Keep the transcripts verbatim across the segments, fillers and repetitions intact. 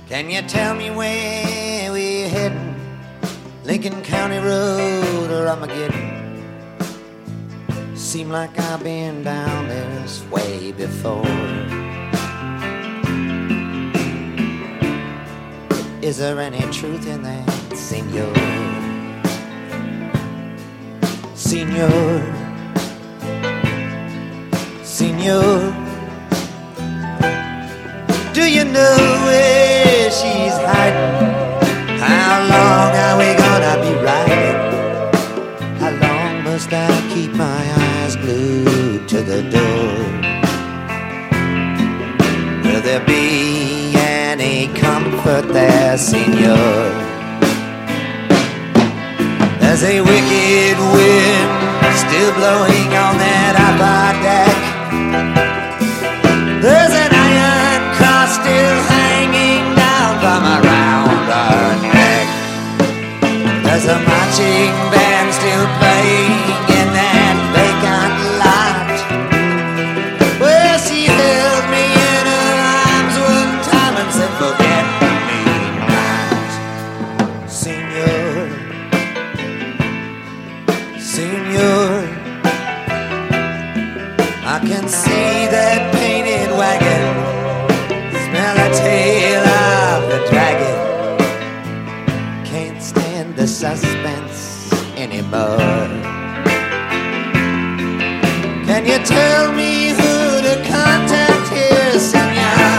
Can you tell me where we're heading? Lincoln County Road or Armageddon? Seem like I've been down this way before. Is there any truth in that, senor? Senor, senor, do you know where she's hiding? How long are we gonna be riding? How long must I keep my eyes glued to the door? Will there be any comfort there, senor? There's a wicked wind still blowing on that upper deck. There's an iron cross still hanging down from around our neck. There's a marching band still playing in that vacant lot where she held me in her arms one time and said, forget me not, senor, senor. I can see that painted wagon, smell the tail of the dragon. Can't stand the suspense anymore. Can you tell me who to contact here, senor?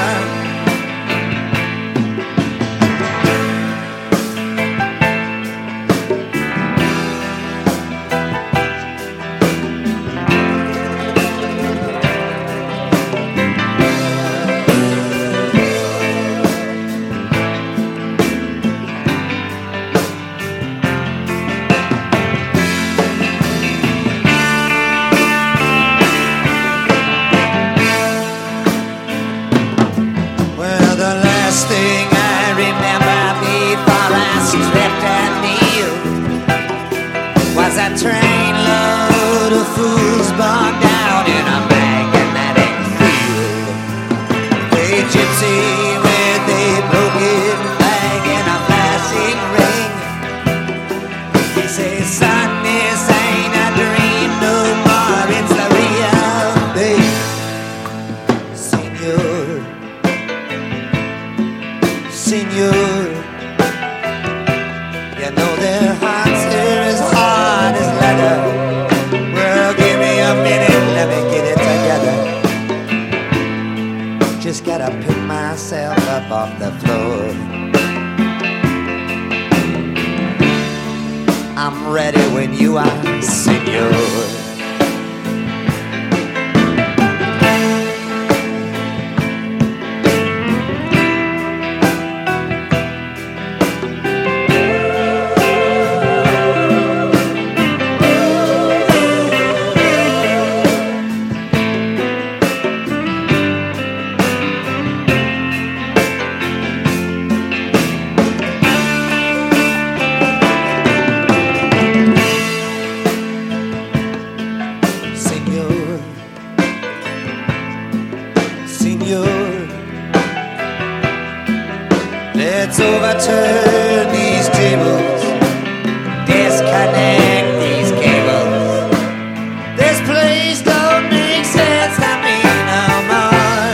A train load of fools bogged down in a magnetic field. A gypsy with a broken leg and a flashing ring. He says, son, this ain't a dream no more, it's the real thing. Senor, senor, you know their hearts are as hard as leather. Well, give me a minute, let me get it together. Just gotta pick myself up off the floor. I'm ready when you are, senor. Let's overturn these tables, disconnect these cables. This place don't make sense to me no more.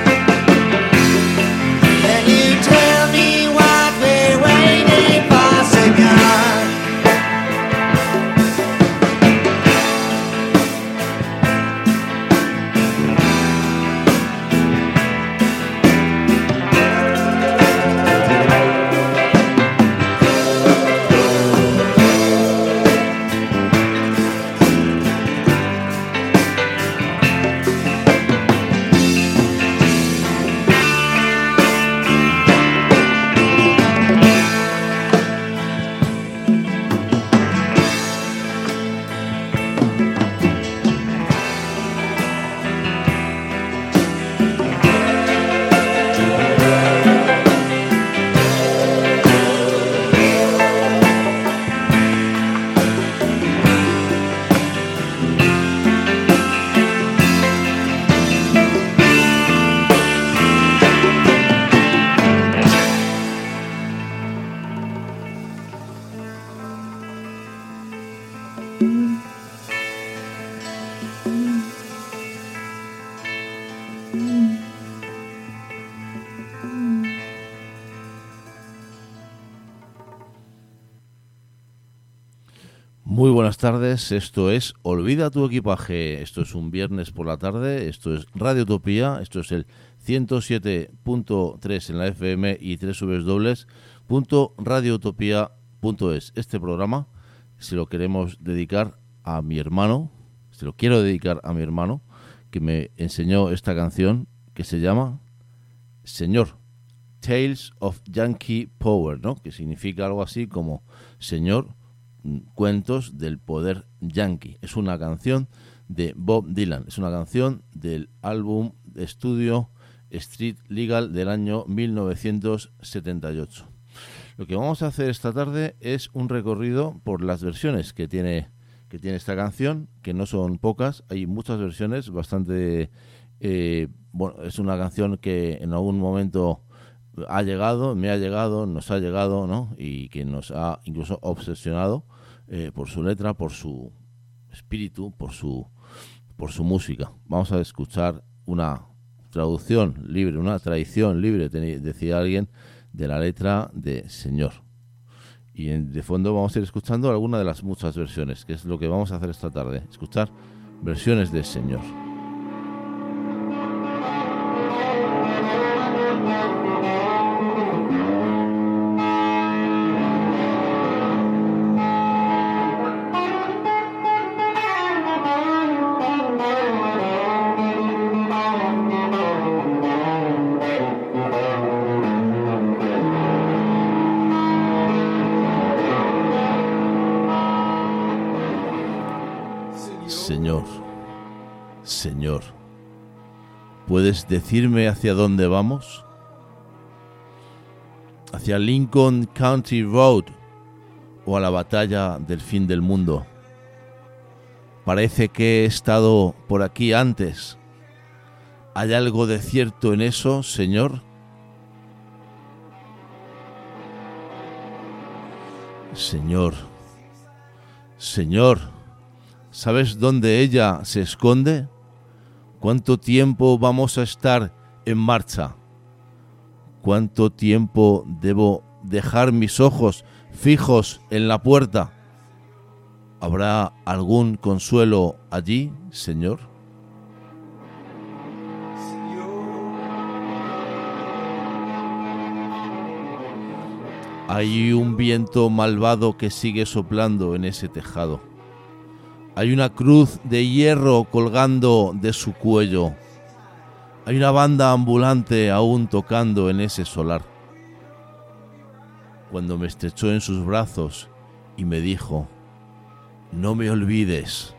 Can you tell me what we're waiting for, senor? Muy buenas tardes, esto es Olvida tu equipaje, esto es un viernes por la tarde, esto es Radio Utopía, esto es el ciento siete punto tres en la F M y doble u doble u doble u punto radio utopía punto es. Este programa se lo queremos dedicar a mi hermano, se lo quiero dedicar a mi hermano, que me enseñó esta canción que se llama Señor, Tales of Yankee Power, ¿no? Que significa algo así como Señor, cuentos del poder yankee. Es una canción de Bob Dylan, es una canción del álbum de estudio Street Legal del año mil novecientos setenta y ocho. Lo que vamos a hacer esta tarde es un recorrido por las versiones que tiene, que tiene esta canción, que no son pocas, hay muchas versiones, bastante... Eh, bueno, es una canción que en algún momento ha llegado, me ha llegado, nos ha llegado, ¿no? Y que nos ha incluso obsesionado eh, por su letra, por su espíritu, por su por su música. Vamos a escuchar una traducción libre, una tradición libre, decía alguien, de la letra de Señor. Y en, de fondo vamos a ir escuchando alguna de las muchas versiones, que es lo que vamos a hacer esta tarde, escuchar versiones de Señor. Señor, Señor, ¿puedes decirme hacia dónde vamos? ¿Hacia Lincoln County Road o a la batalla del fin del mundo? Parece que he estado por aquí antes. ¿Hay algo de cierto en eso, Señor? Señor, Señor, ¿sabes dónde ella se esconde? ¿Cuánto tiempo vamos a estar en marcha? ¿Cuánto tiempo debo dejar mis ojos fijos en la puerta? ¿Habrá algún consuelo allí, Señor? Hay un viento malvado que sigue soplando en ese tejado. Hay una cruz de hierro colgando de su cuello. Hay una banda ambulante aún tocando en ese solar. Cuando me estrechó en sus brazos y me dijo: no me olvides.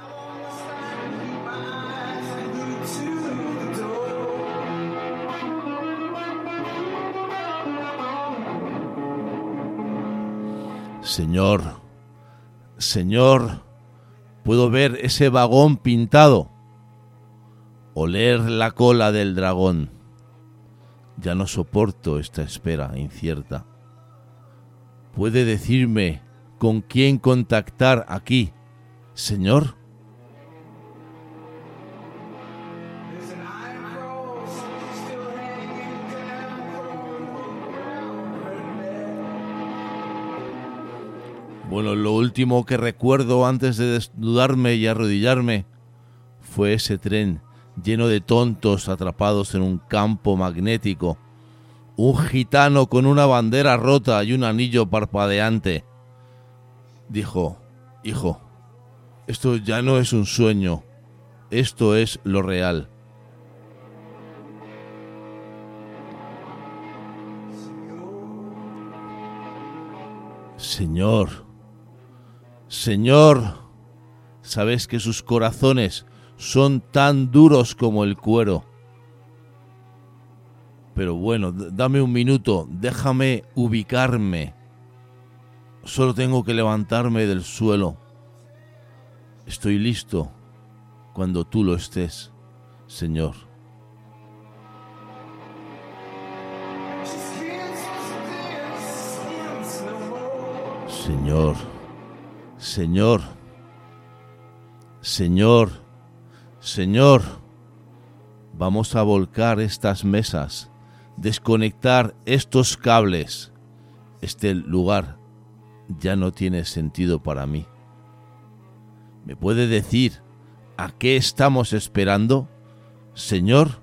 Señor, Señor, puedo ver ese vagón pintado, oler la cola del dragón. Ya no soporto esta espera incierta. ¿Puede decirme con quién contactar aquí, Señor? Bueno, lo último que recuerdo antes de desnudarme y arrodillarme fue ese tren lleno de tontos atrapados en un campo magnético. Un gitano con una bandera rota y un anillo parpadeante. Dijo: hijo, esto ya no es un sueño, esto es lo real. Señor, Señor, sabes que sus corazones son tan duros como el cuero. Pero bueno, dame un minuto, déjame ubicarme. Solo tengo que levantarme del suelo. Estoy listo cuando tú lo estés, Señor. Señor, Señor, Señor, Señor, vamos a volcar estas mesas, desconectar estos cables. Este lugar ya no tiene sentido para mí. ¿Me puede decir a qué estamos esperando, señor?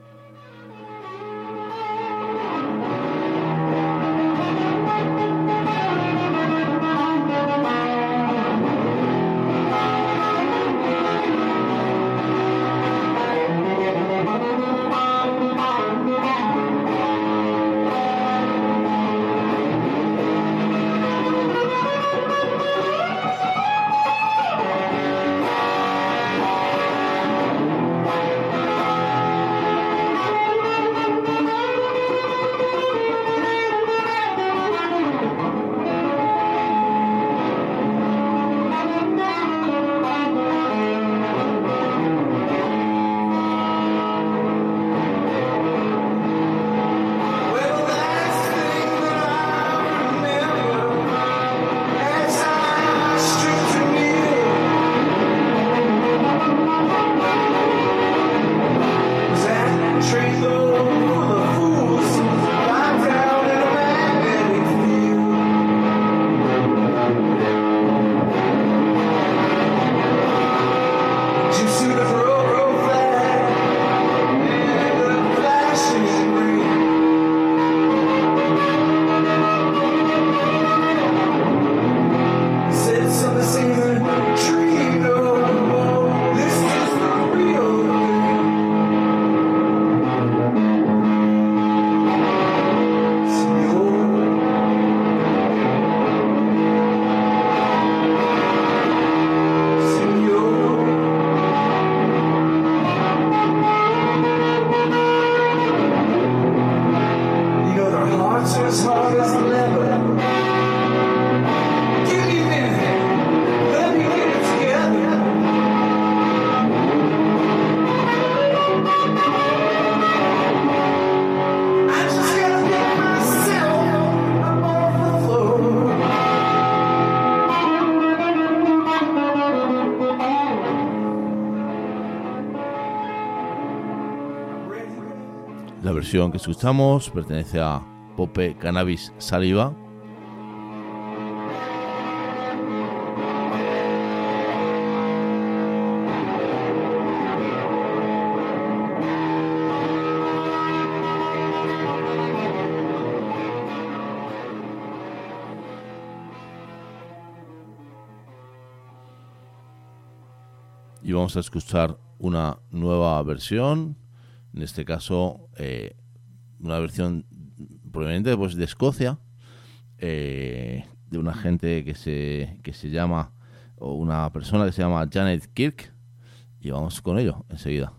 La versión que escuchamos pertenece a Pope Cannabis Saliva. Y vamos a escuchar una nueva versión. En este caso, eh, una versión proveniente pues, de Escocia, eh, de una gente que se, que se llama, o una persona que se llama Janet Kirk, y vamos con ello enseguida.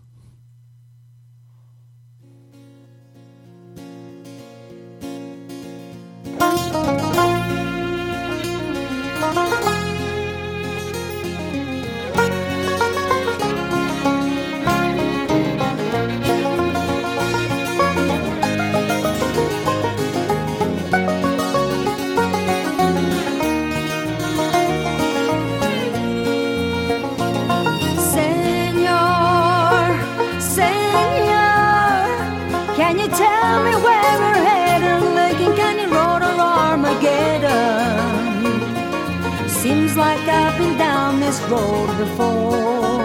Road before.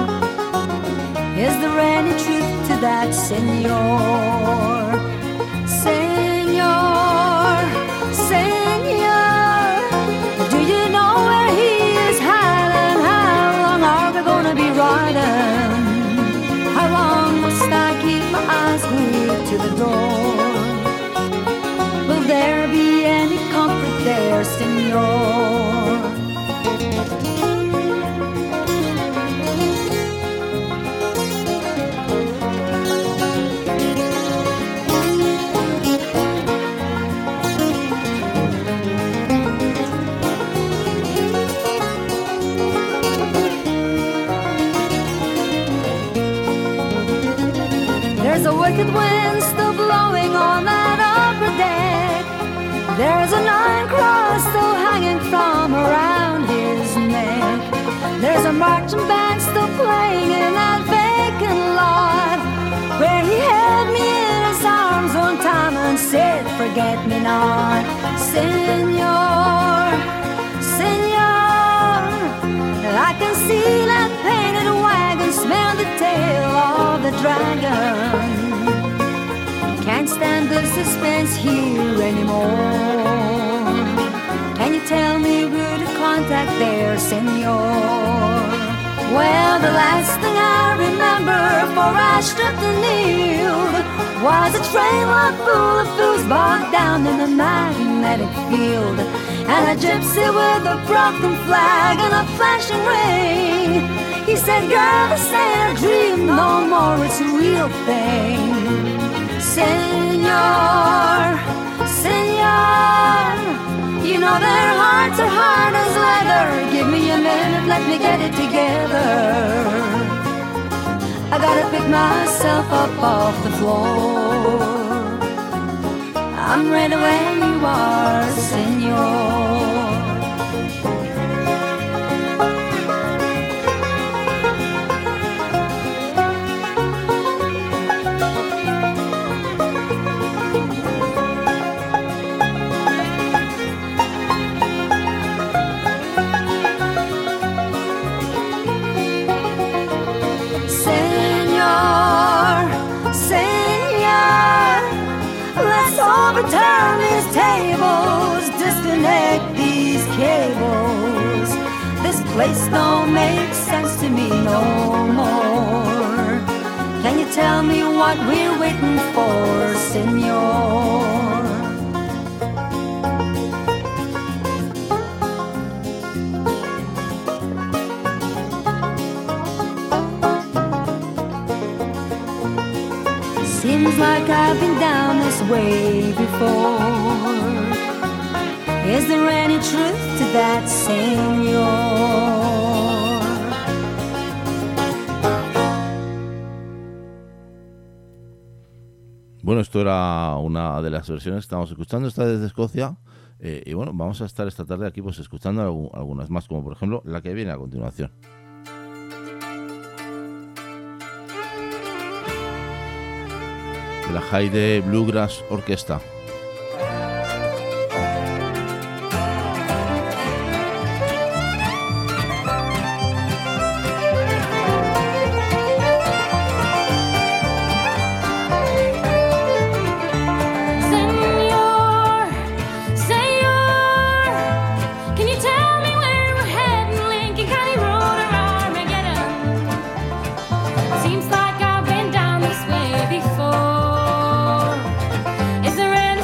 Is there any truth to that, Senor? Senor, Senor, do you know where he is hiding? How long are we gonna be riding? How long must I keep my eyes glued to the door? Will there be any comfort there, Senor? There's a wicked wind still blowing on that upper deck. There's a nine cross still hanging from around his neck. There's a marching band still playing in that vacant lot where he held me in his arms one time and said, forget me not. Senor, Senor, I can see that painted wagon, smell the tail of the dragon. Can't stand the suspense here anymore. Can you tell me who to contact there, senor? Well, the last thing I remember before I stripped and kneeled was a train load full of fools bogged down in the magnetic field, and a gypsy with a broken flag and a flashing ring. He said, girl, this ain't a dream no more, it's a real thing. Senor, senor, you know their hearts are hard as leather. Give me a minute, let me get it together. I gotta pick myself up off the floor. I'm ready when you are, senor. Overturn these tables, disconnect these cables. This place don't make sense to me no more. Can you tell me what we're waiting for, senor? Seems like I've been down this way before. Is there any truth to that, senor? Bueno, esto era una de las versiones que estamos escuchando, esta desde Escocia. Eh, y bueno, vamos a estar esta tarde aquí pues escuchando algu- algunas más, como por ejemplo la que viene a continuación. De la Haida Bluegrass Orquesta. Is there any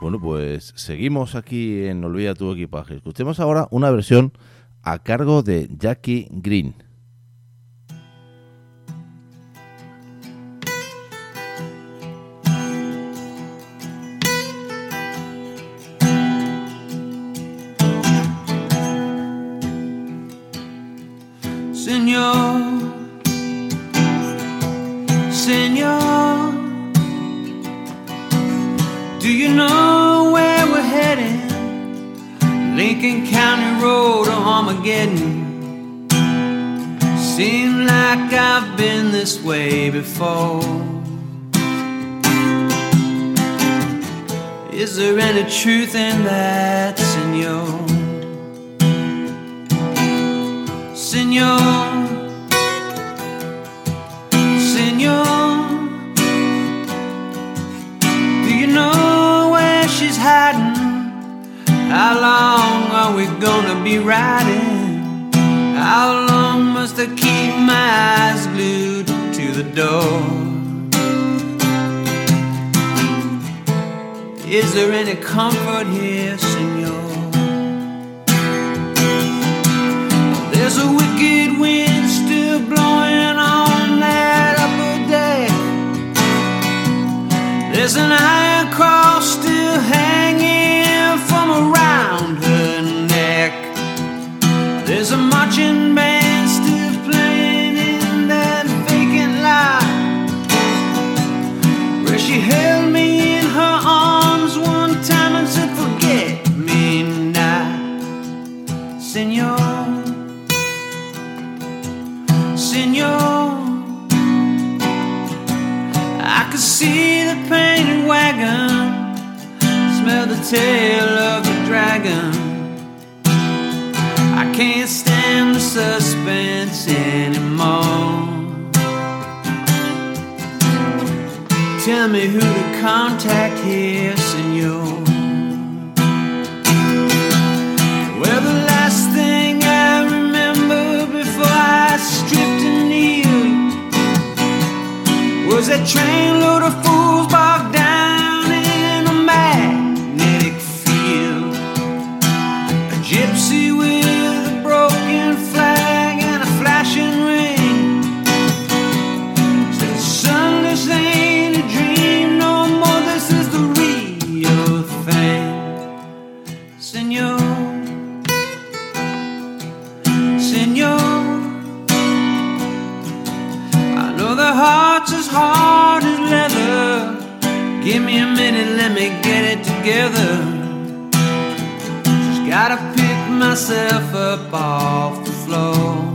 Bueno, pues seguimos aquí en Olvida tu equipaje. Escuchemos ahora una versión a cargo de Jackie Green. Señor, Señor, do you know where we're heading? Lincoln County Road or Armageddon. Seems like I've been this way before. Is there any truth in that, Señor? Señor, Señor, do you know where she's hiding? How long are we gonna be riding? How long must I keep my eyes glued to the door? Is there any comfort here, Señor? There's a wicked wind still blowing on that upper deck. There's an iron cross still hanging from around her neck. There's a marching band still playing in that vacant lot where she held me in her arms one time and said, forget me not, Señor. Señor, I could see the painted wagon, smell the tail of the dragon. I can't stand the suspense anymore. Tell me who to contact here, Señor. Well, the last thing I remember before I stripped and kneeled was that trainload of fools bogged down in a magnetic field. A gypsy with a broken flag and a flashing ring said, son, this ain't a dream no more, this is the real thing. Señor, Señor, I know the heart's as hard as leather. Give me a minute, let me get it together. Just gotta pick myself up off the floor.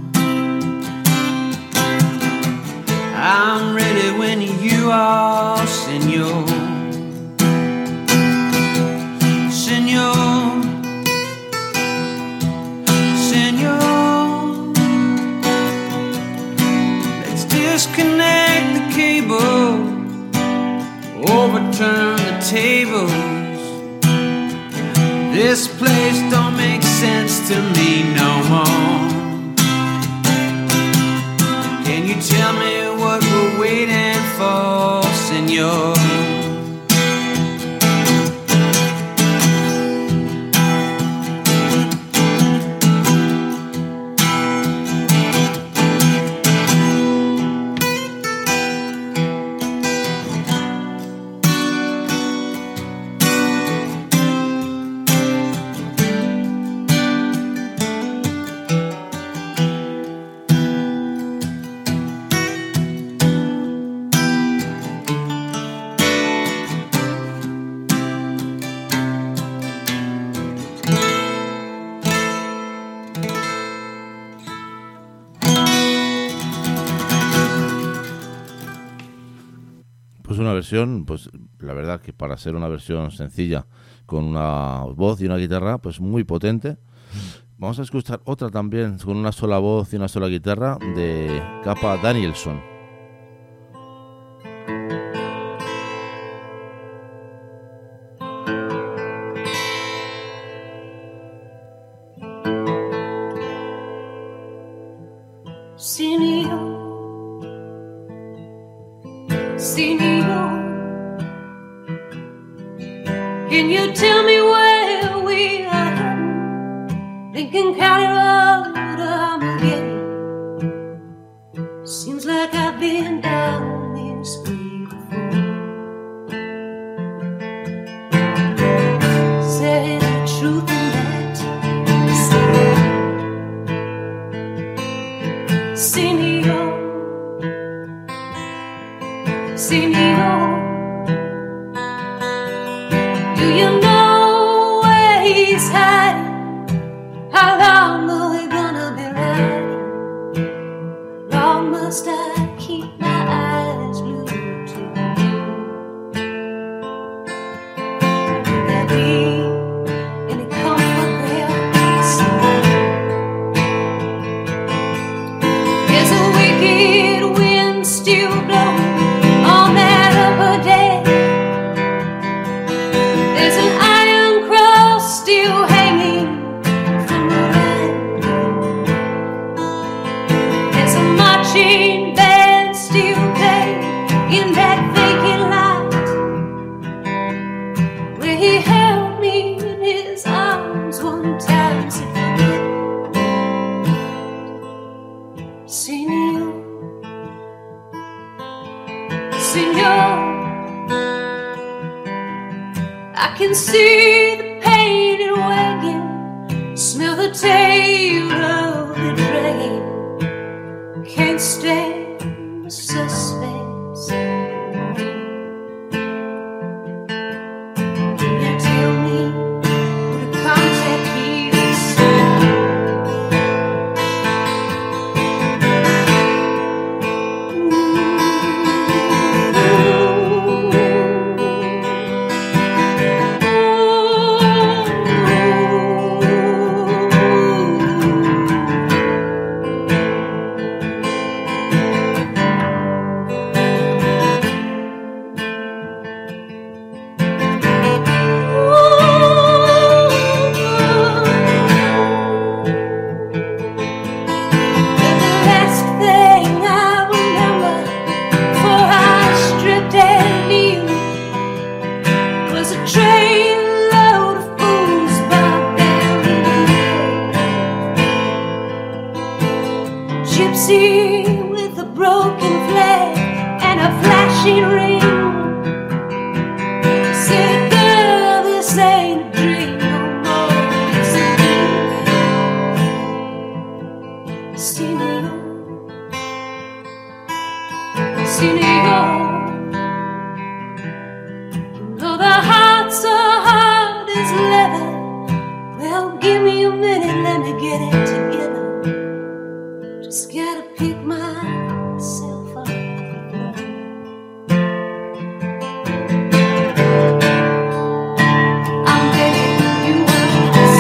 I'm ready when you are, Señor. Señor, Señor, let's disconnect the cable, overturn the tables. This place don't make sense to me no more. Can you tell me what we're waiting for, Señor? Una versión, pues la verdad que para ser una versión sencilla con una voz y una guitarra, pues muy potente. Vamos a escuchar otra también con una sola voz y una sola guitarra de Kappa Danielson. Can you tell me where we are heading? Lincoln County Road to Armageddon. Seems like I've been down this way before. Is there any truth in that? Senor, Senor, do you know where he's hiding? How long are we gonna be riding? Long must I keep my eyes glued to you? Will there be any comfort there? There's a wicked wind still blowing on that upper deck. There's an iron cross still hanging from the line. There's a marching band still playing in that vacant lot where he held me in his arms one time. Said, Senor, Senor, I can see the painted wagon, smell the tail of the dragon. Can't stand the suspense. Can you tell me where to contact here? With a broken flag and a flashing ring, said, girl, this ain't a dream no more, it's a dream. Senor, Senor, though the heart's so hard as leather, well, give me a minute, let me get it together. Just gotta pick myself up. I'm begging you once.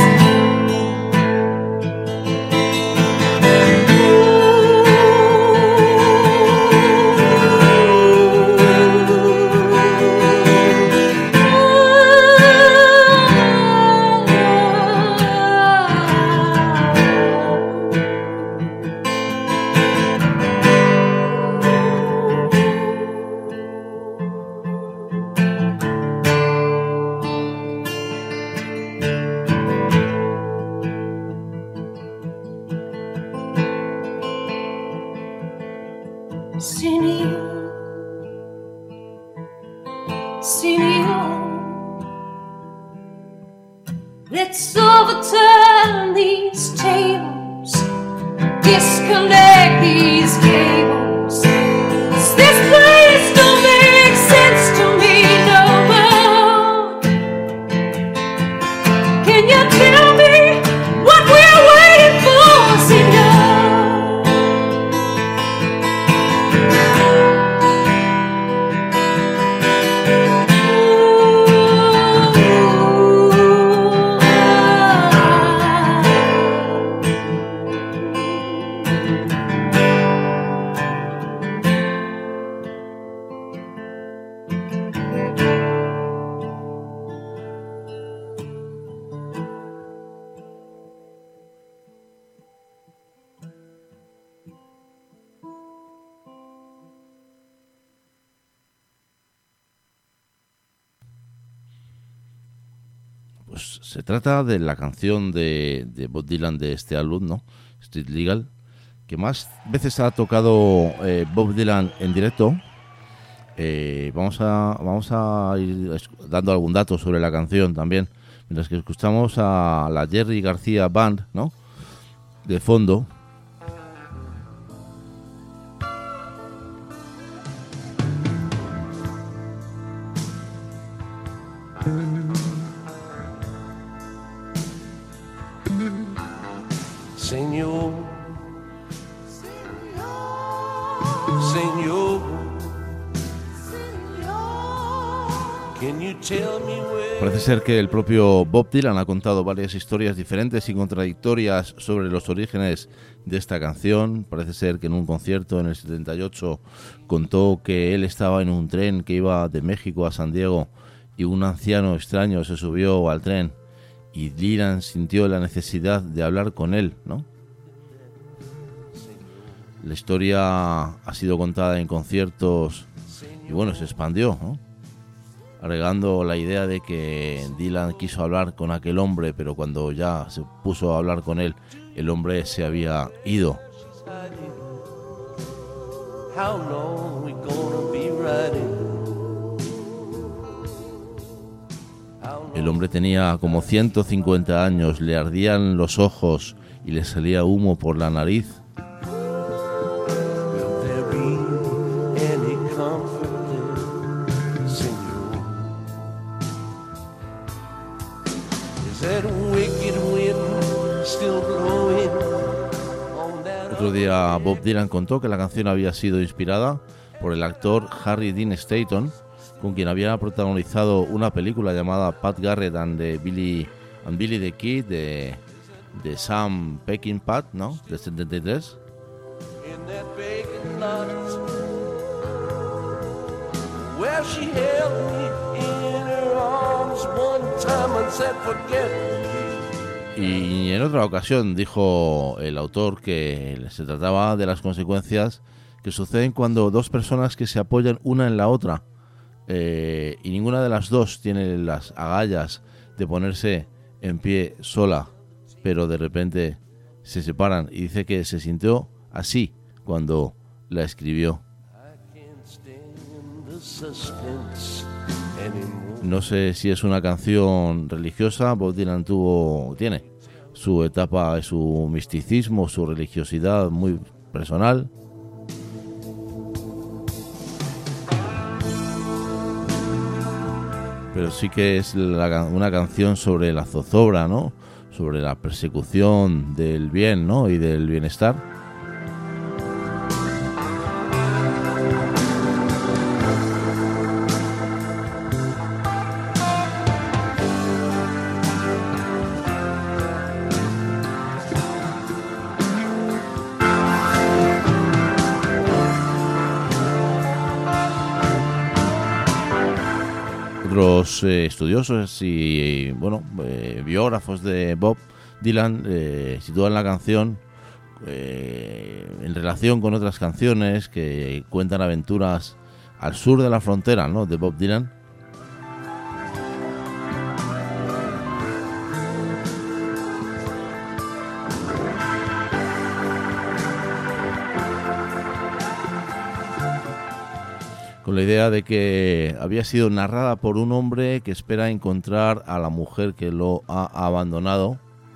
Senor, Senor, let's overturn these tables, disconnect these cables. This place don't make sense to me no more. Can you tell me what we're waiting for, Senor? Pues se trata de la canción de, de Bob Dylan de este álbum, ¿no? Street Legal, que más veces ha tocado eh, Bob Dylan en directo. Eh, vamos a vamos a ir dando algún dato sobre la canción también, mientras que escuchamos a la Jerry García Band, ¿no? De fondo. Señor, Señor, can you tell me where... Parece ser que el propio Bob Dylan ha contado varias historias diferentes y contradictorias sobre los orígenes de esta canción. Parece ser que en un concierto en el setenta y ocho contó que él estaba en un tren que iba de México a San Diego y un anciano extraño se subió al tren y Dylan sintió la necesidad de hablar con él, ¿no? La historia ha sido contada en conciertos y bueno, se expandió, ¿no? Agregando la idea de que Dylan quiso hablar con aquel hombre, pero cuando ya se puso a hablar con él, el hombre se había ido. How long we gonna be riding? El hombre tenía como ciento cincuenta años, le ardían los ojos y le salía humo por la nariz. Will there be any comfort there, Señor? Is that wicked wind still blowing on that... Otro día Bob Dylan contó que la canción había sido inspirada por el actor Harry Dean Stanton, con quien había protagonizado una película llamada Pat Garrett and, the Billy, and Billy the Kid de, de Sam Peckinpah, ¿no? De setenta y tres. In that vacant lot where she held me in her arms one time and said forget me. Y en otra ocasión dijo el autor que se trataba de las consecuencias que suceden cuando dos personas que se apoyan una en la otra Eh, y ninguna de las dos tiene las agallas de ponerse en pie sola, pero de repente se separan, y dice que se sintió así cuando la escribió. No sé si es una canción religiosa. Bob Dylan tuvo, tiene su etapa, su misticismo, su religiosidad muy personal. Pero sí que es la, una canción sobre la zozobra, ¿no? Sobre la persecución del bien, ¿no? Y del bienestar. Otros eh, estudiosos y bueno eh, biógrafos de Bob Dylan eh, sitúan la canción eh, en relación con otras canciones que cuentan aventuras al sur de la frontera, ¿no? De Bob Dylan. Con la idea de que había sido narrada por un hombre que espera encontrar a la mujer que lo ha abandonado.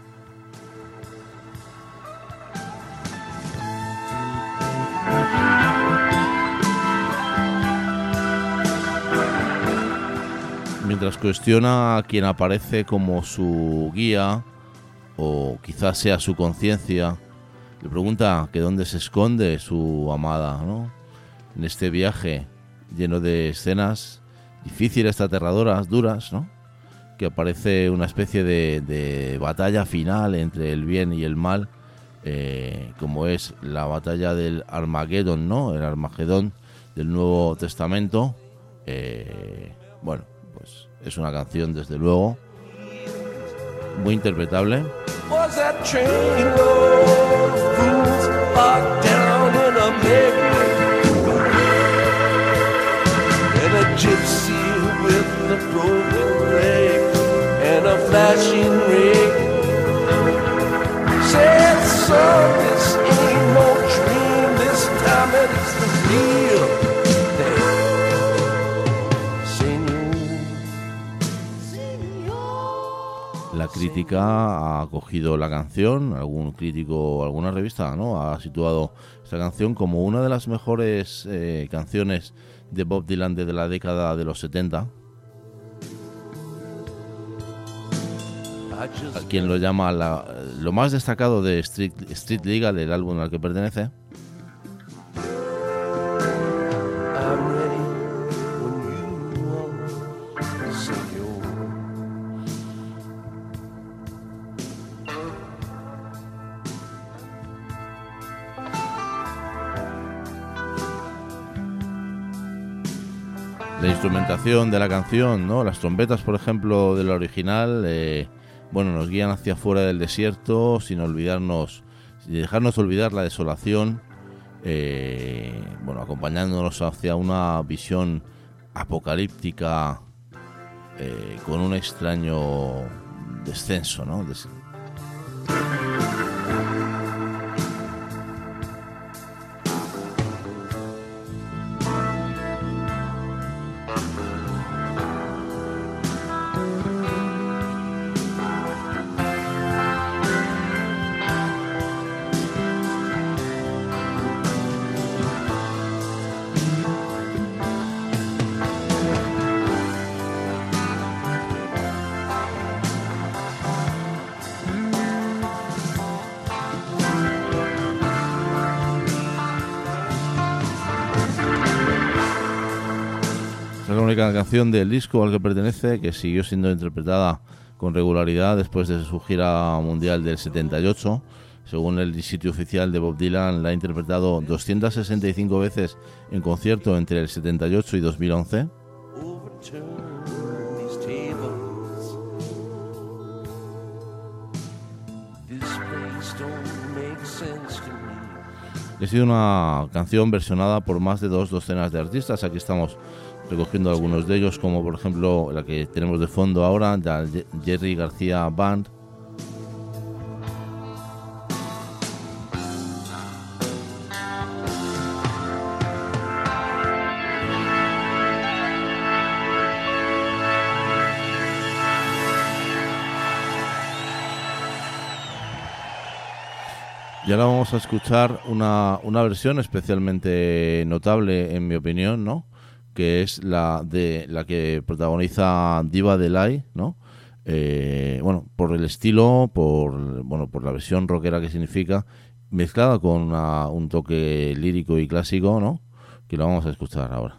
Mientras cuestiona a quien aparece como su guía, o quizás sea su conciencia, le pregunta que dónde se esconde su amada, ¿no? En este viaje lleno de escenas difíciles, aterradoras, duras, ¿no? Que aparece una especie de, de batalla final entre el bien y el mal, eh, como es la batalla del Armagedón, ¿no? El Armagedón del Nuevo Testamento. Eh, bueno, pues es una canción, desde luego, muy interpretable. Was that train of fools locked down in a big gypsy with a broken leg and a flash but it's the real thing. La crítica ha acogido la canción, algún crítico, alguna revista, ¿no?, ha situado esta canción como una de las mejores eh, canciones de Bob Dylan desde la década de los setenta. A quien lo llama la, lo más destacado de Street, Street Legal, el álbum al que pertenece. La instrumentación de la canción, ¿no?, las trompetas, por ejemplo, de la original, eh, bueno, nos guían hacia afuera del desierto sin olvidarnos, sin dejarnos olvidar la desolación, eh, bueno, acompañándonos hacia una visión apocalíptica eh, con un extraño descenso, ¿no? Des- Es la única canción del disco al que pertenece que siguió siendo interpretada con regularidad después de su gira mundial del setenta y ocho. Según el sitio oficial de Bob Dylan, la ha interpretado doscientas sesenta y cinco veces en concierto entre el setenta y ocho y dos mil once. Ha sido una canción versionada por más de dos docenas de artistas. Aquí estamos recogiendo algunos de ellos, como por ejemplo la que tenemos de fondo ahora, la Jerry García Band. Y ahora vamos a escuchar una, una versión especialmente notable, en mi opinión, ¿no?, que es la de la que protagoniza Diva Delay, ¿no? Eh, bueno, por el estilo, por bueno, por la versión rockera que significa, mezclada con una, un toque lírico y clásico, ¿no?, que lo vamos a escuchar ahora.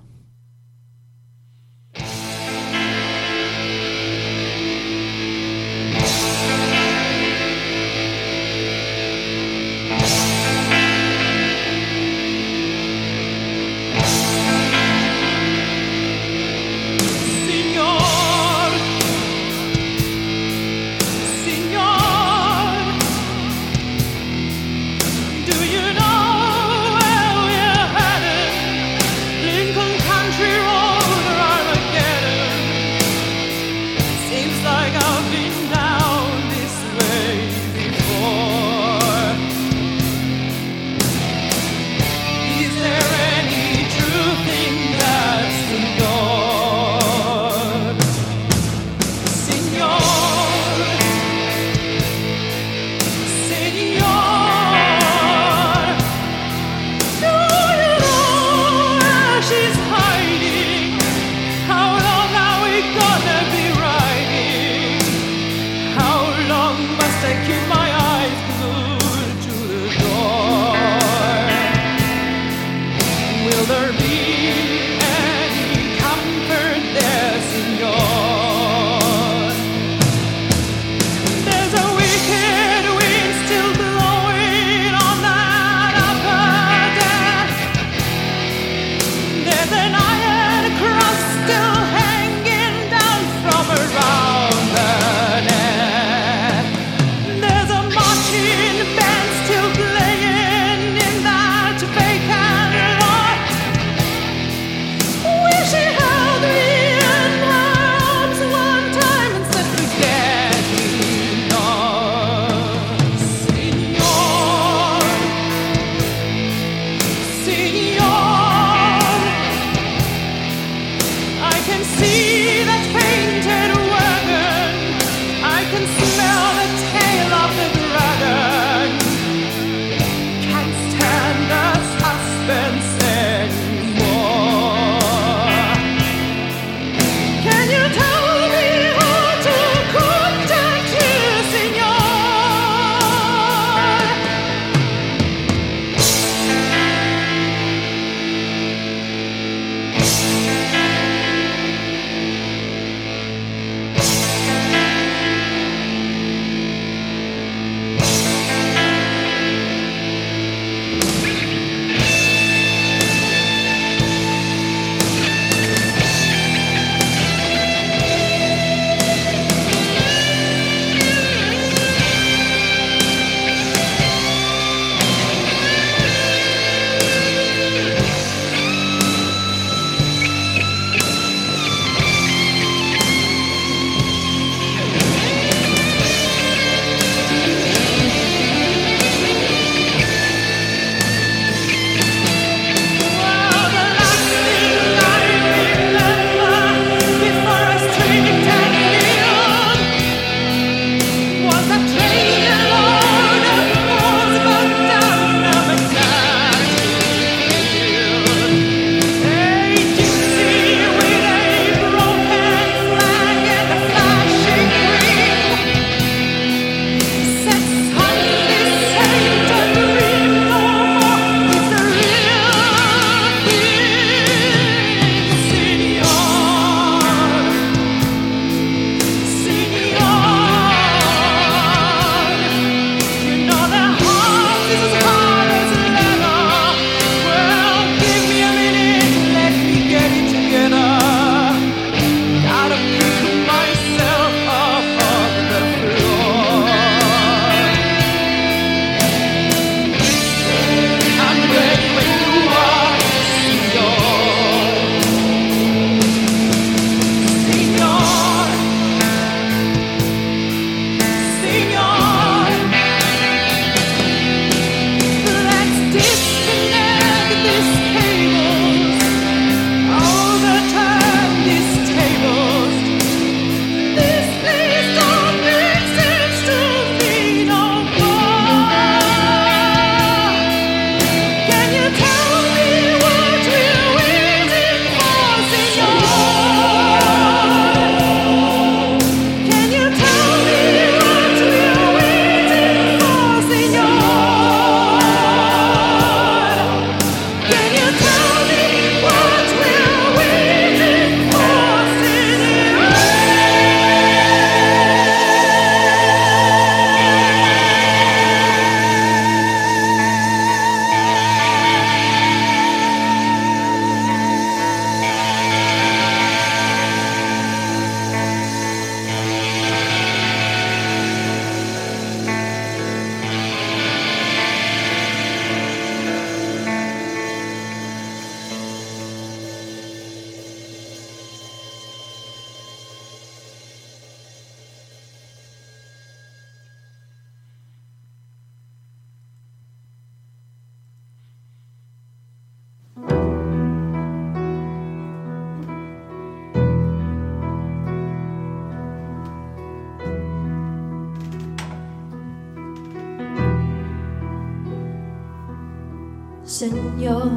Señor,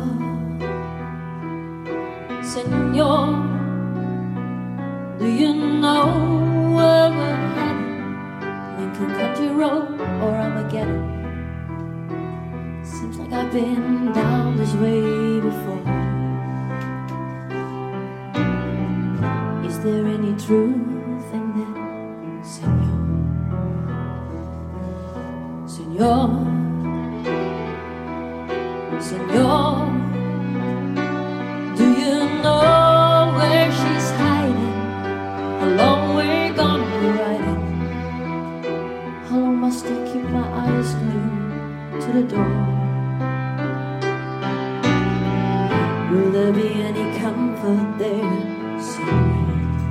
Señor, do you know where we're headed? Lincoln Country Road or Armageddon? Seems like I've been down this way before. Is there any truth in that, Señor? Señor, Señor, do you know where she's hiding? How long we're gonna be riding? How long must I keep my eyes glued to the door? Will there be any comfort there, Señor?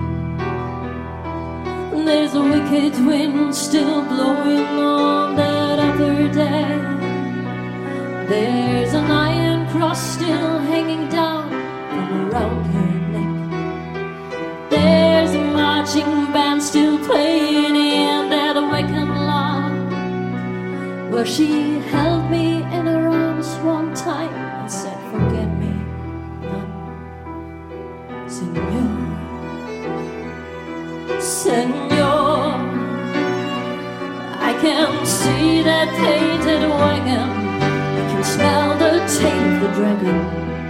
There's a wicked wind still blowing on that other day. There's an iron cross still hanging down from around her neck. There's a marching band still playing in that awakened lot, where she held me in her arms one time and said, forget me not, Señor, Señor. I can see that painted wagon, smell the tail of the dragon.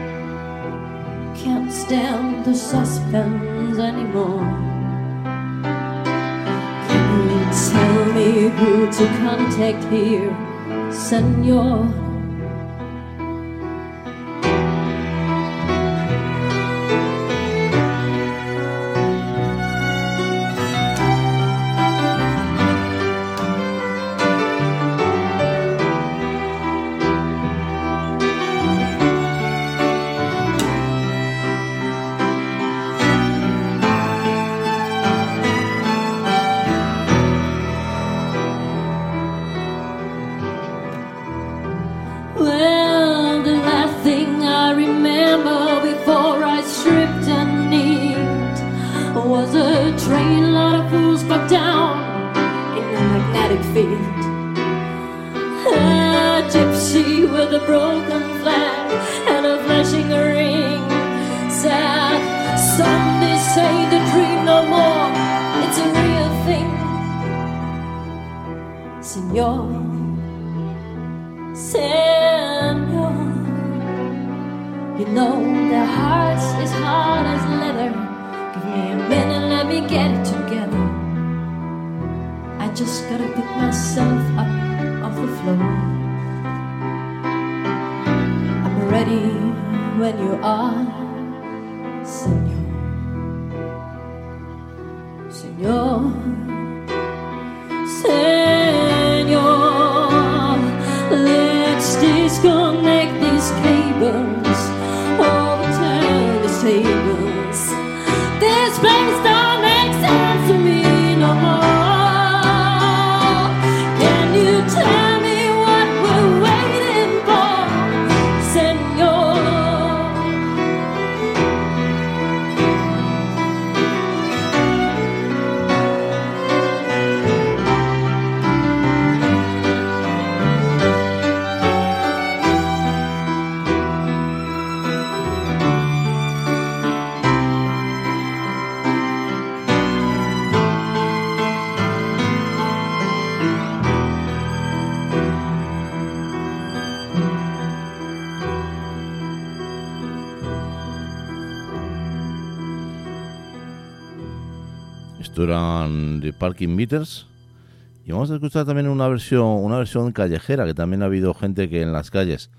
Can't stand the suspense anymore. Can you tell me who to contact here, Señor? Esto eran The Parking Meters. Y vamos a escuchar también una versión una versión callejera, que también ha habido gente que en las calles,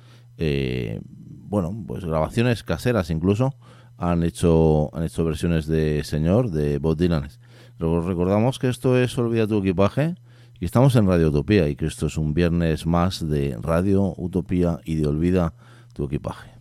eh, bueno, pues grabaciones caseras incluso, han hecho han hecho versiones de Señor, de Bob Dylan. Luego recordamos que esto es Olvida tu equipaje y estamos en Radio Utopía y que esto es un viernes más de Radio Utopía y de Olvida tu equipaje.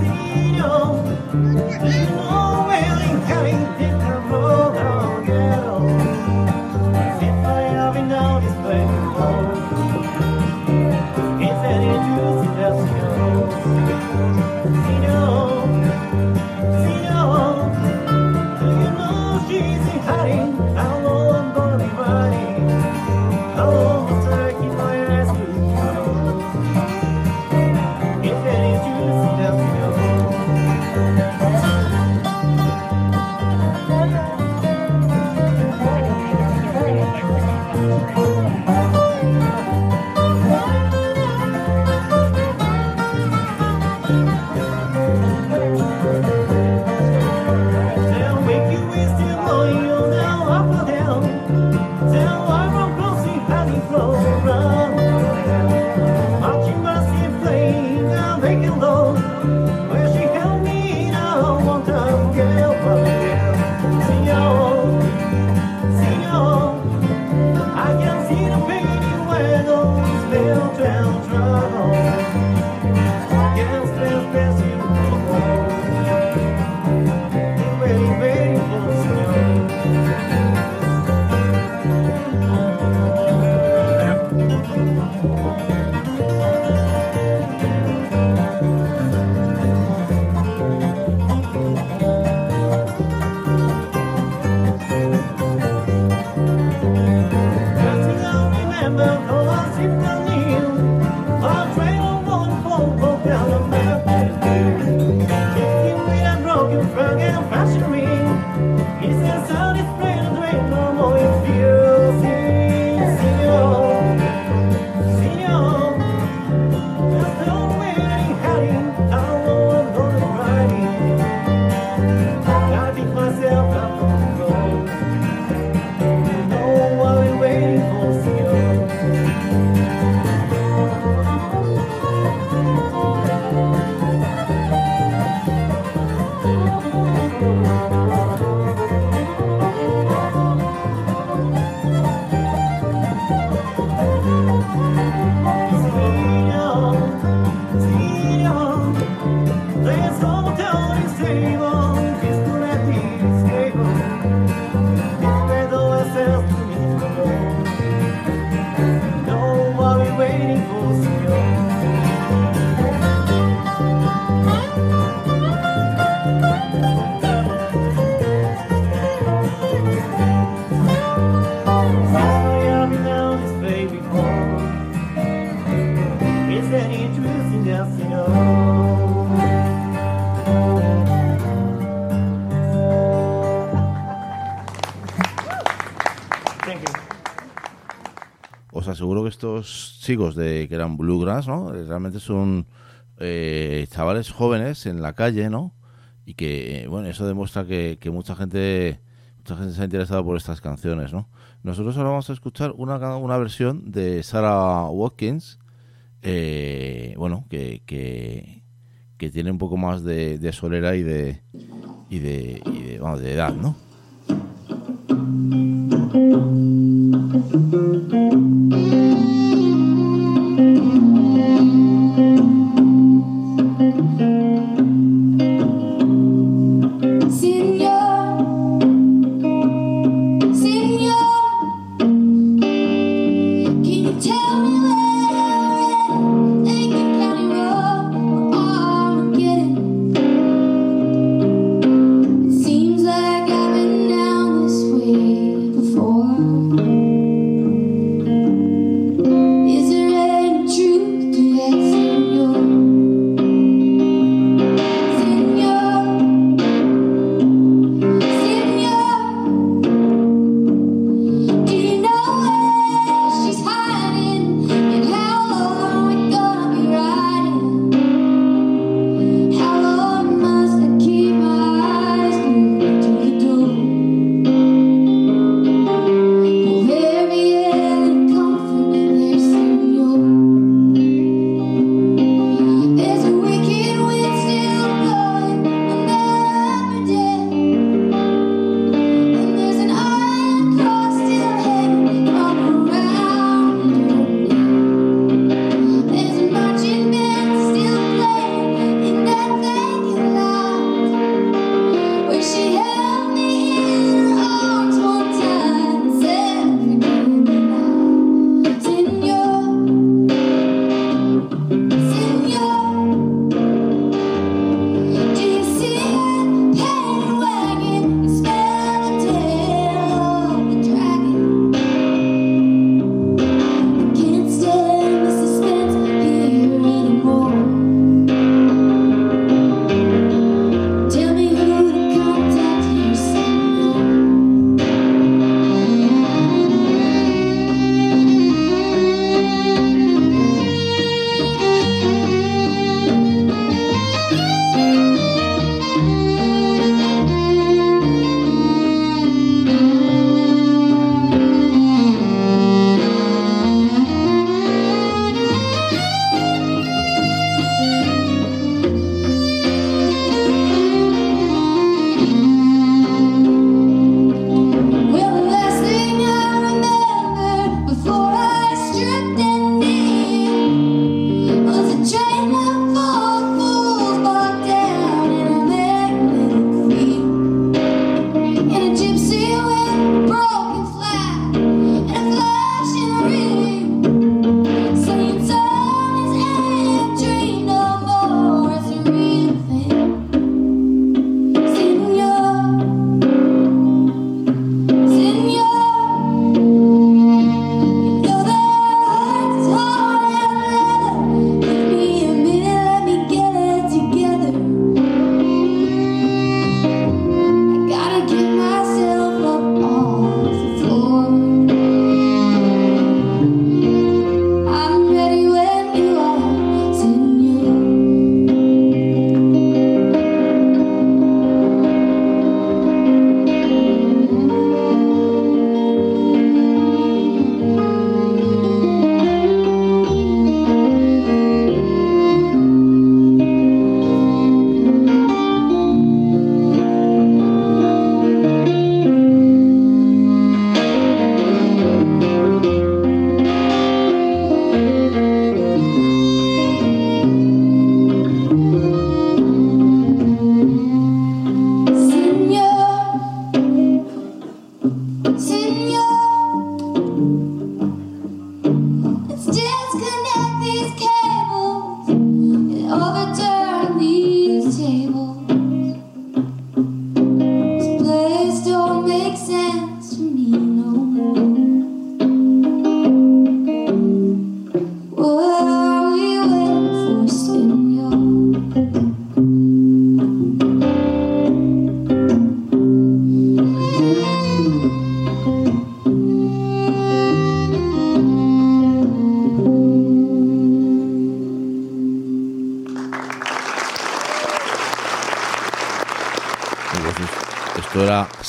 Oh, well, he can't get the road on, yeah. Os aseguro que estos chicos de que eran bluegrass, ¿no? Realmente son eh, chavales jóvenes en la calle, ¿no? Y que, bueno, eso demuestra que, que mucha gente mucha gente se ha interesado por estas canciones, ¿no? Nosotros ahora vamos a escuchar una, una versión de Sarah Watkins, eh, bueno, que, que, que tiene un poco más de, de solera y de y de, y de, vamos, de edad, ¿no? Seems like I've been down this way before.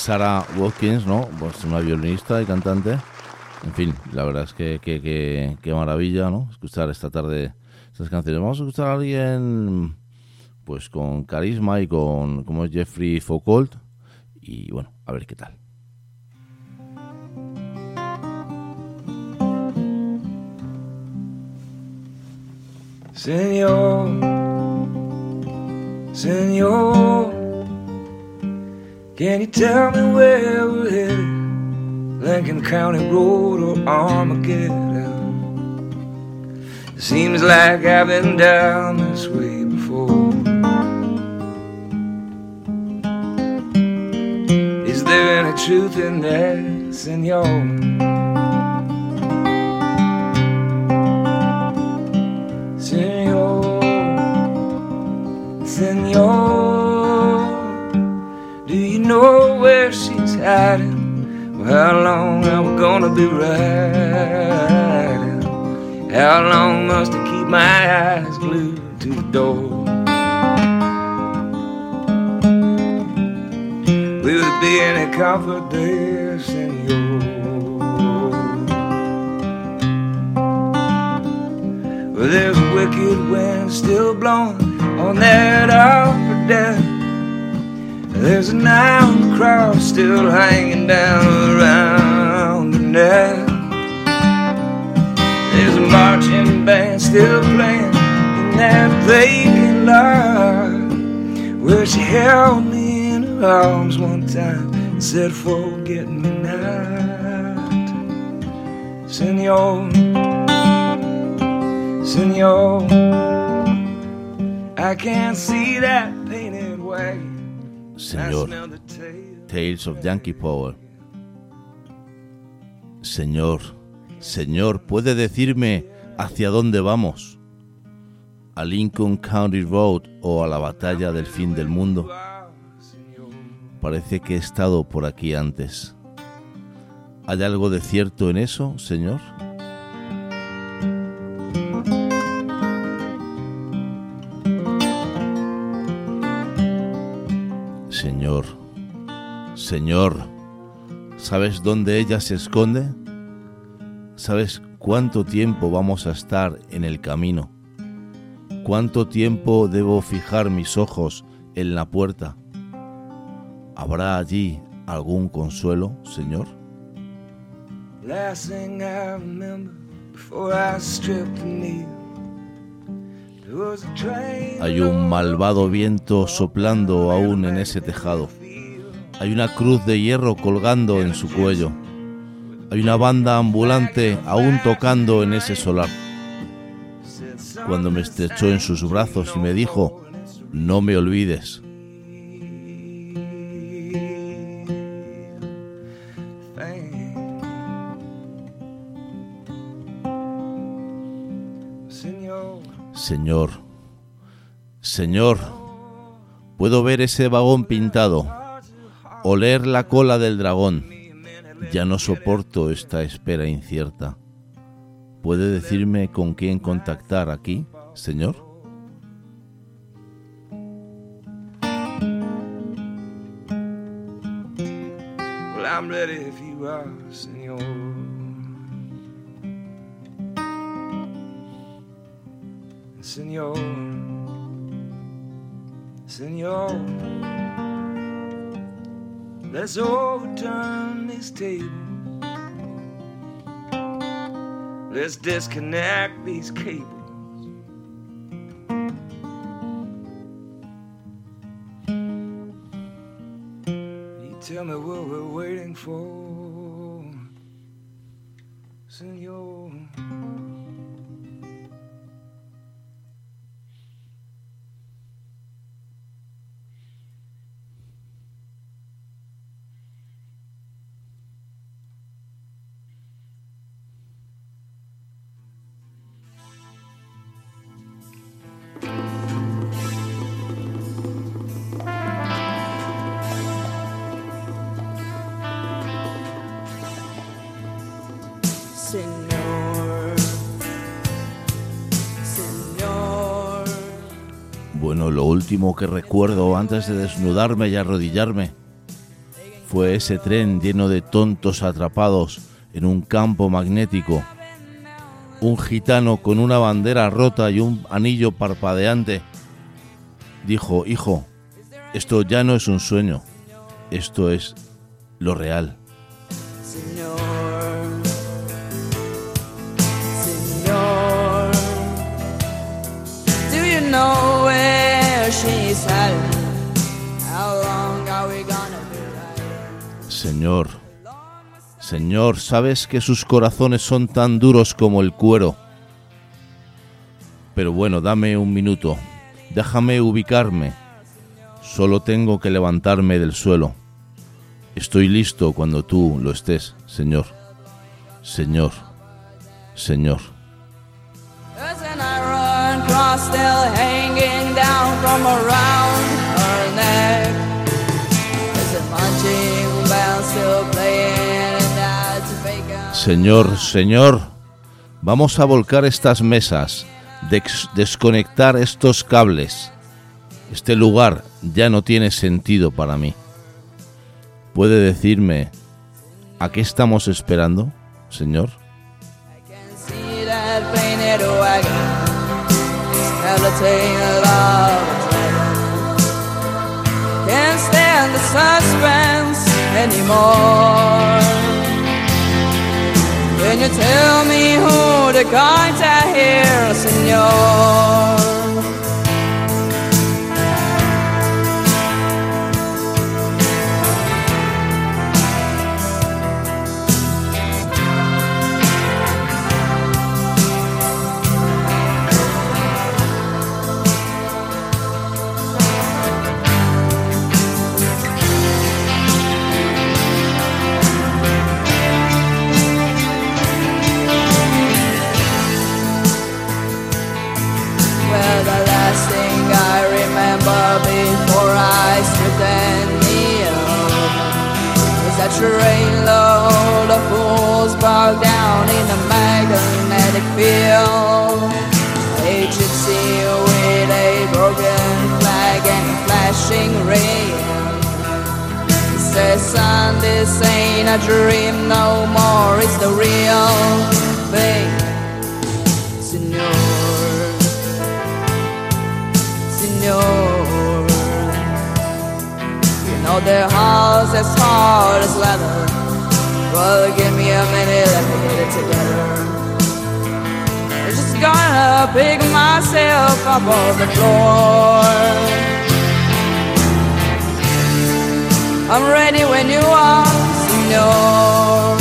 Sarah Watkins, ¿no? Pues una violinista y cantante. En fin, la verdad es que que, que, que maravilla, ¿no? Escuchar esta tarde estas canciones. Vamos a escuchar a alguien pues con carisma y con como es Jeffrey Foucault y bueno, a ver qué tal. Señor, Señor, can you tell me where we're headed? Lincoln County Road or Armageddon? It seems like I've been down this way before. Is there any truth in that, Señor? Señor, Señor, do you know where she's hiding? How long are we gonna be riding? How long must I keep my eyes glued to the door? Will there be any comfort there, Señor? Well, there's a wicked wind still blowing on that upper deck. There's an iron cross still hanging down around her neck. There's a marching band still playing in that vacant lot where she held me in her arms one time and said, forget me not. Señor, Señor, I can't see that painted wagon. Señor, Tales of Yankee Power. Señor, Señor, ¿puede decirme hacia dónde vamos? ¿A Lincoln County Road o a la batalla del fin del mundo? Parece que he estado por aquí antes. ¿Hay algo de cierto en eso, Señor? Señor, Señor, ¿sabes dónde ella se esconde? ¿Sabes cuánto tiempo vamos a estar en el camino? ¿Cuánto tiempo debo fijar mis ojos en la puerta? ¿Habrá allí algún consuelo, Señor? Last thing I remember before I stripped the knee. Hay un malvado viento soplando aún en ese tejado. Hay una cruz de hierro colgando en su cuello. Hay una banda ambulante aún tocando en ese solar. Cuando me estrechó en sus brazos y me dijo, no me olvides. Señor, Señor, puedo ver ese vagón pintado, oler la cola del dragón. Ya no soporto esta espera incierta. ¿Puede decirme con quién contactar aquí, Señor? Well, I'm ready if you are, Señor. Señor, Señor, let's overturn this table. Let's disconnect these cables. You tell me what we're waiting for, Señor. Bueno, lo último que recuerdo antes de desnudarme y arrodillarme Fue ese tren lleno de tontos atrapados en un campo magnético. Un gitano con una bandera rota y un anillo parpadeante dijo: hijo, esto ya no es un sueño, esto es lo real. Señor, Señor, do you know where she's hiding? How long are we gonna be riding? Señor, Señor, sabes que sus corazones son tan duros como el cuero. Pero bueno, dame un minuto, déjame ubicarme. Solo tengo que levantarme del suelo. Estoy listo cuando tú lo estés, Señor. Señor, Señor. Doesn't I run cross still hanging down from around her neck? Is it punching bell still playing and that's vacant? Señor, Señor, vamos a volcar estas mesas, dex- desconectar estos cables. Este lugar ya no tiene sentido para mí. ¿Puede decirme a qué estamos esperando, Señor? I can see that painted wagon, skeleton of a dragon. Can't stand the suspense anymore. Can you tell me who to contact here, Señor? Before I stripped and kneel, was that trainload of fools bogged down in a magnetic field. A gypsy with a broken flag and a flashing rail. He says, son, this ain't a dream no more, it's the real thing. Señor, Señor, know their hearts as hard as leather. Well, give me a minute, let me get it together. I'm just gonna pick myself up off the floor. I'm ready when you are, Señor.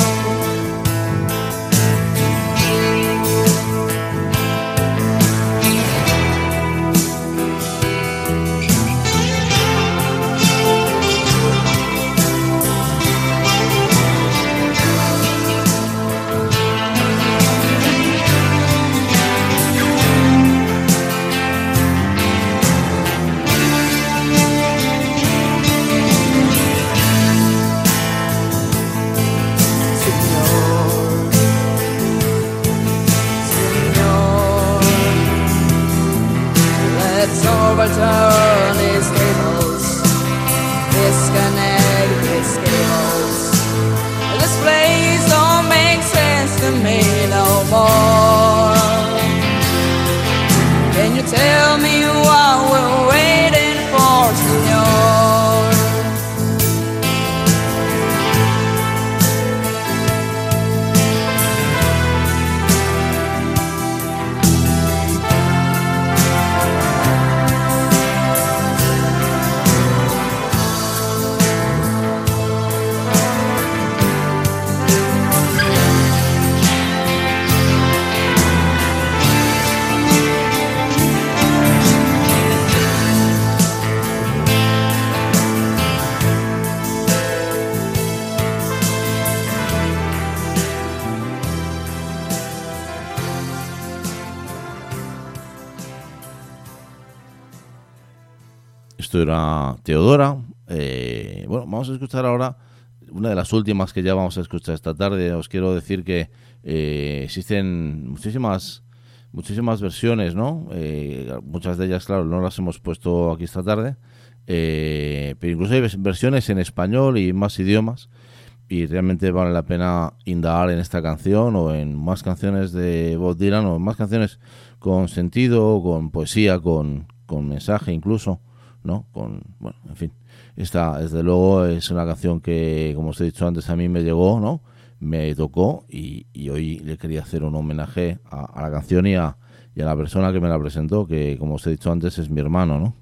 Overturn these tables, disconnect these cables. This place don't make sense to me no more. Can you tell me what we're waiting for, Señor? Esto era Teodora. Eh, bueno, vamos a escuchar ahora una de las últimas que ya vamos a escuchar esta tarde. Os quiero decir que eh, existen muchísimas muchísimas versiones, ¿no? Eh, muchas de ellas, claro, no las hemos puesto aquí esta tarde. eh, pero incluso hay versiones en español y más idiomas, y realmente vale la pena indagar en esta canción o en más canciones de Bob Dylan o en más canciones con sentido, con poesía, con, con mensaje incluso, ¿no? Con, bueno, en fin, esta desde luego es una canción que, como os he dicho antes, a mí me llegó, ¿no? Me tocó y, y hoy le quería hacer un homenaje a, a la canción y a, y a la persona que me la presentó, que como os he dicho antes es mi hermano, ¿no?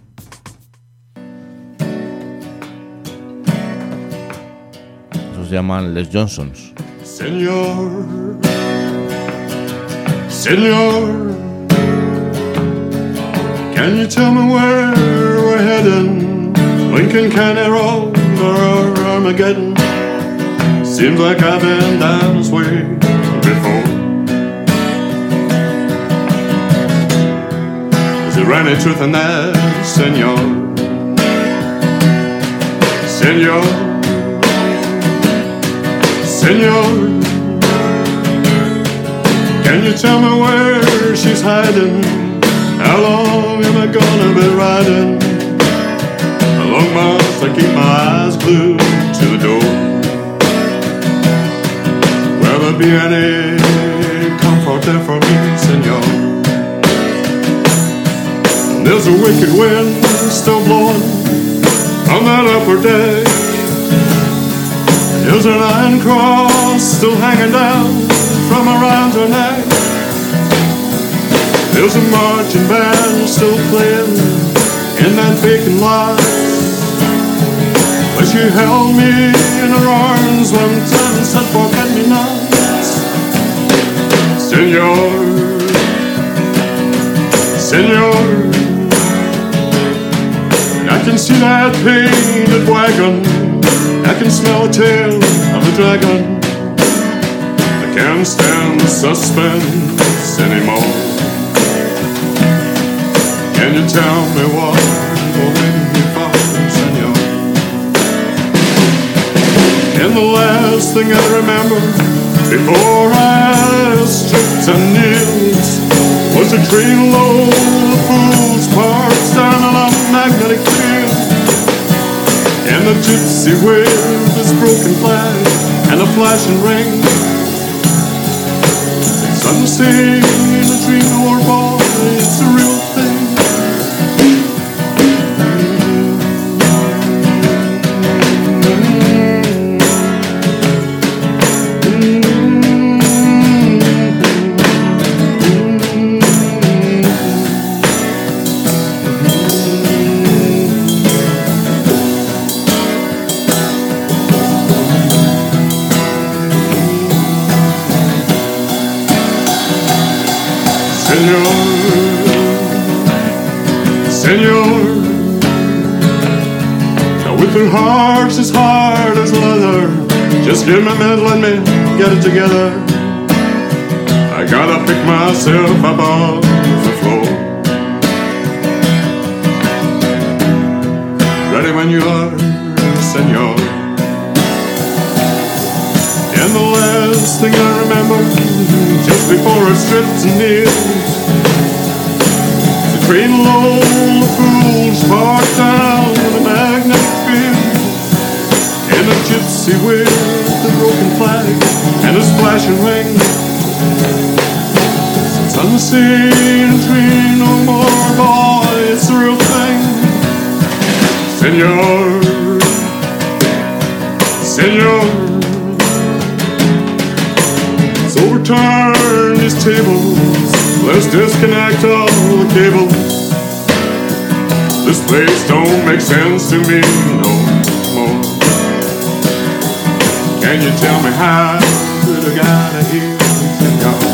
Esos se llaman Les Johnsons. Señor, Señor, can you tell me where we're heading? Lincoln County Road or Armageddon? Seems like I've been down this way before. Is there any truth in that, Senor? Senor, Senor, can you tell me where she's hiding? How long am I gonna be riding? How long must I keep my eyes glued to the door? Will there be any comfort there for me, Senor? There's a wicked wind still blowing on that upper deck. There's an iron cross still hanging down from around her neck. There's a marching band still playing in that vacant lot. But she held me in her arms one time and said, forget me not. Senor, Senor, I can see that painted wagon, I can smell the tail of the dragon. I can't stand the suspense anymore. Can you tell me what or when you found, Senor? And the last thing I remember before I stripped and kneeled was a train load of fools parked down on a magnetic field. And the gypsy waved his broken flag and a flashing ring. Some say a dream or boy, it's a real thing. Senor, now with their hearts as hard as leather, just give me a minute, let me get it together. I gotta pick myself up off the floor. Ready when you are, Senor. And the last thing I remember, just before I stripped and kneeled, train load of fools parked down in the magnetic field. And a gypsy with a broken flag and a splashing ring. Since I'm seen a train no more, boy, it's the real thing. Senor, Senor, so overturn these tables. Let's disconnect all the cables. This place don't make sense to me no more. Can you tell me how did I got here, Senor?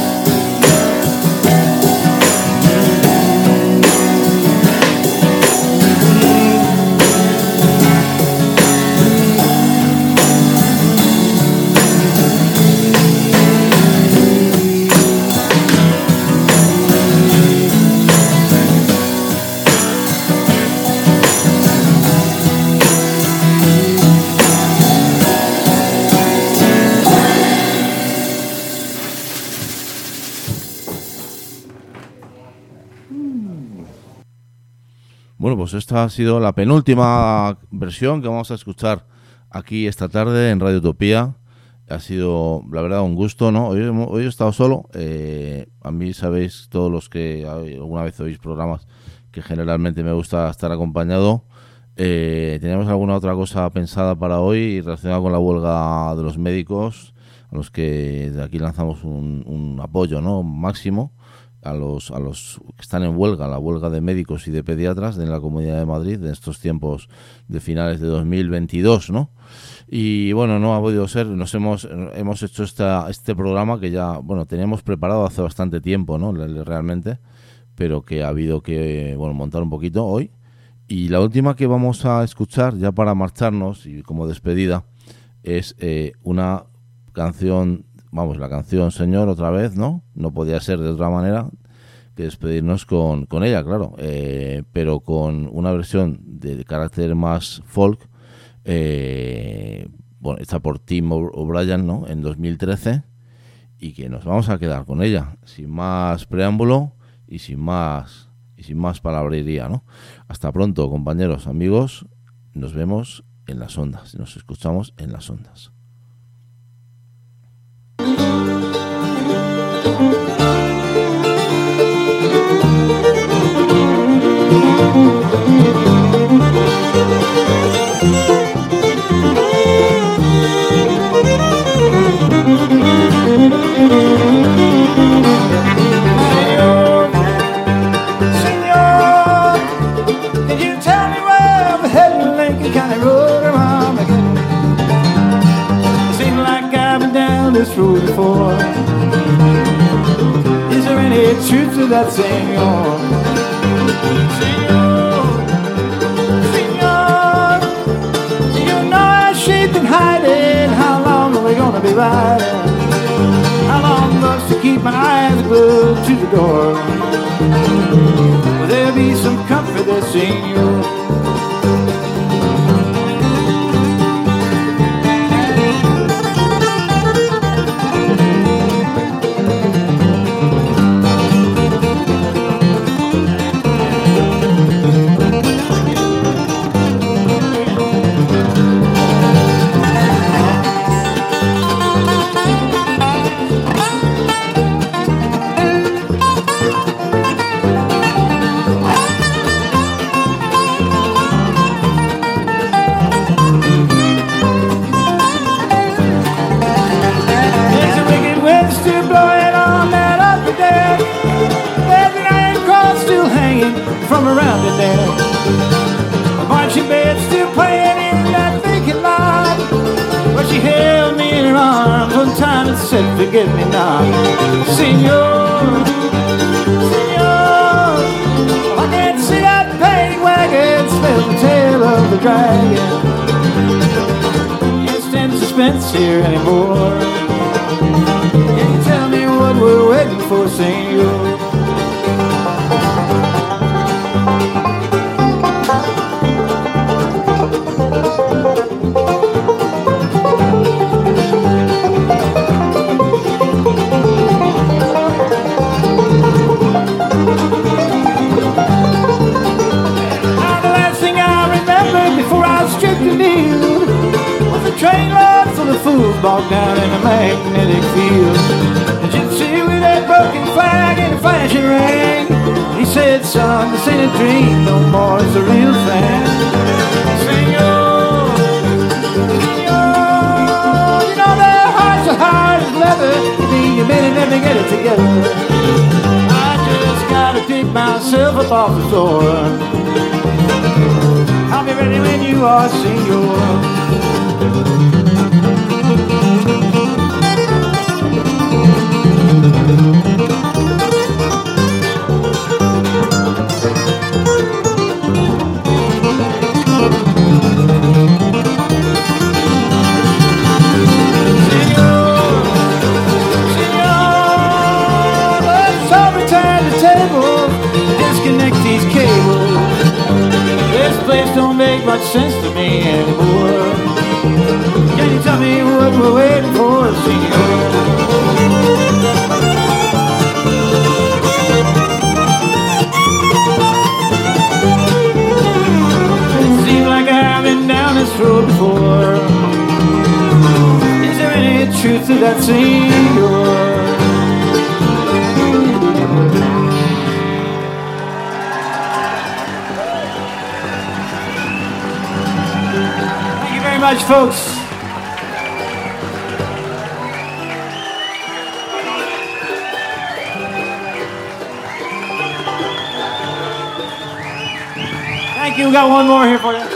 Bueno, pues esta ha sido la penúltima versión que vamos a escuchar aquí esta tarde en Radio Utopía. Ha sido, la verdad, un gusto, ¿no? Hoy, hoy he estado solo. Eh, a mí, sabéis, todos los que alguna vez oís programas, que generalmente me gusta estar acompañado. Eh, teníamos alguna otra cosa pensada para hoy relacionada con la huelga de los médicos, a los que de aquí lanzamos un, un apoyo, ¿no? máximo. a los a los que están en huelga, la huelga de médicos y de pediatras en la Comunidad de Madrid en estos tiempos de finales de dos mil veintidós, ¿no? Y bueno, no ha podido ser, nos hemos hemos hecho esta este programa que ya, bueno, teníamos preparado hace bastante tiempo, ¿no? Realmente, pero que ha habido que, bueno, montar un poquito hoy. Y la última que vamos a escuchar ya para marcharnos y como despedida es eh, una canción. Vamos, la canción Señor otra vez, ¿no? No podía ser de otra manera que despedirnos con, con ella, claro. Eh, pero con una versión de, de carácter más folk, eh, bueno, hecha por Tim O'Brien, ¿no? En dos mil trece, y que nos vamos a quedar con ella, sin más preámbulo y sin más y sin más palabrería, ¿no? Hasta pronto, compañeros, amigos. Nos vemos en las ondas, nos escuchamos en las ondas. Señor, can you tell me where I'm heading? Lincoln County Road around again. Seems like I've been down this road before. Is there any truth to that, Señor? Señor, Señor, you know I shaped and hiding. How long are we gonna be riding? How long must I keep my eyes glued to the door? Will there be some comfort there, Señor? From around it there, a marching band still playing in that vacant lot. But she held me in her arms one time and said, "Forgive me not, Señor, Señor." I can't see that paddy wagon, smell the tail of the dragon. Can't stand suspense here anymore. Can you tell me what we're waiting for, Señor? Train loads of the fools bogged down in a magnetic field. A gypsy with that broken flag and a flashing ring. He said, "Son, this ain't a dream no more, it's a real thing." Señor, Señor, you know their hearts are hard as leather. You mean you made it, never get it together. I just gotta pick myself up off the floor. I'll be ready when you are, Señor. Don't make much sense to me anymore. Can you tell me what we're waiting for, Señor? truth to that scene. Much, folks. Thank you. We got one more here for you.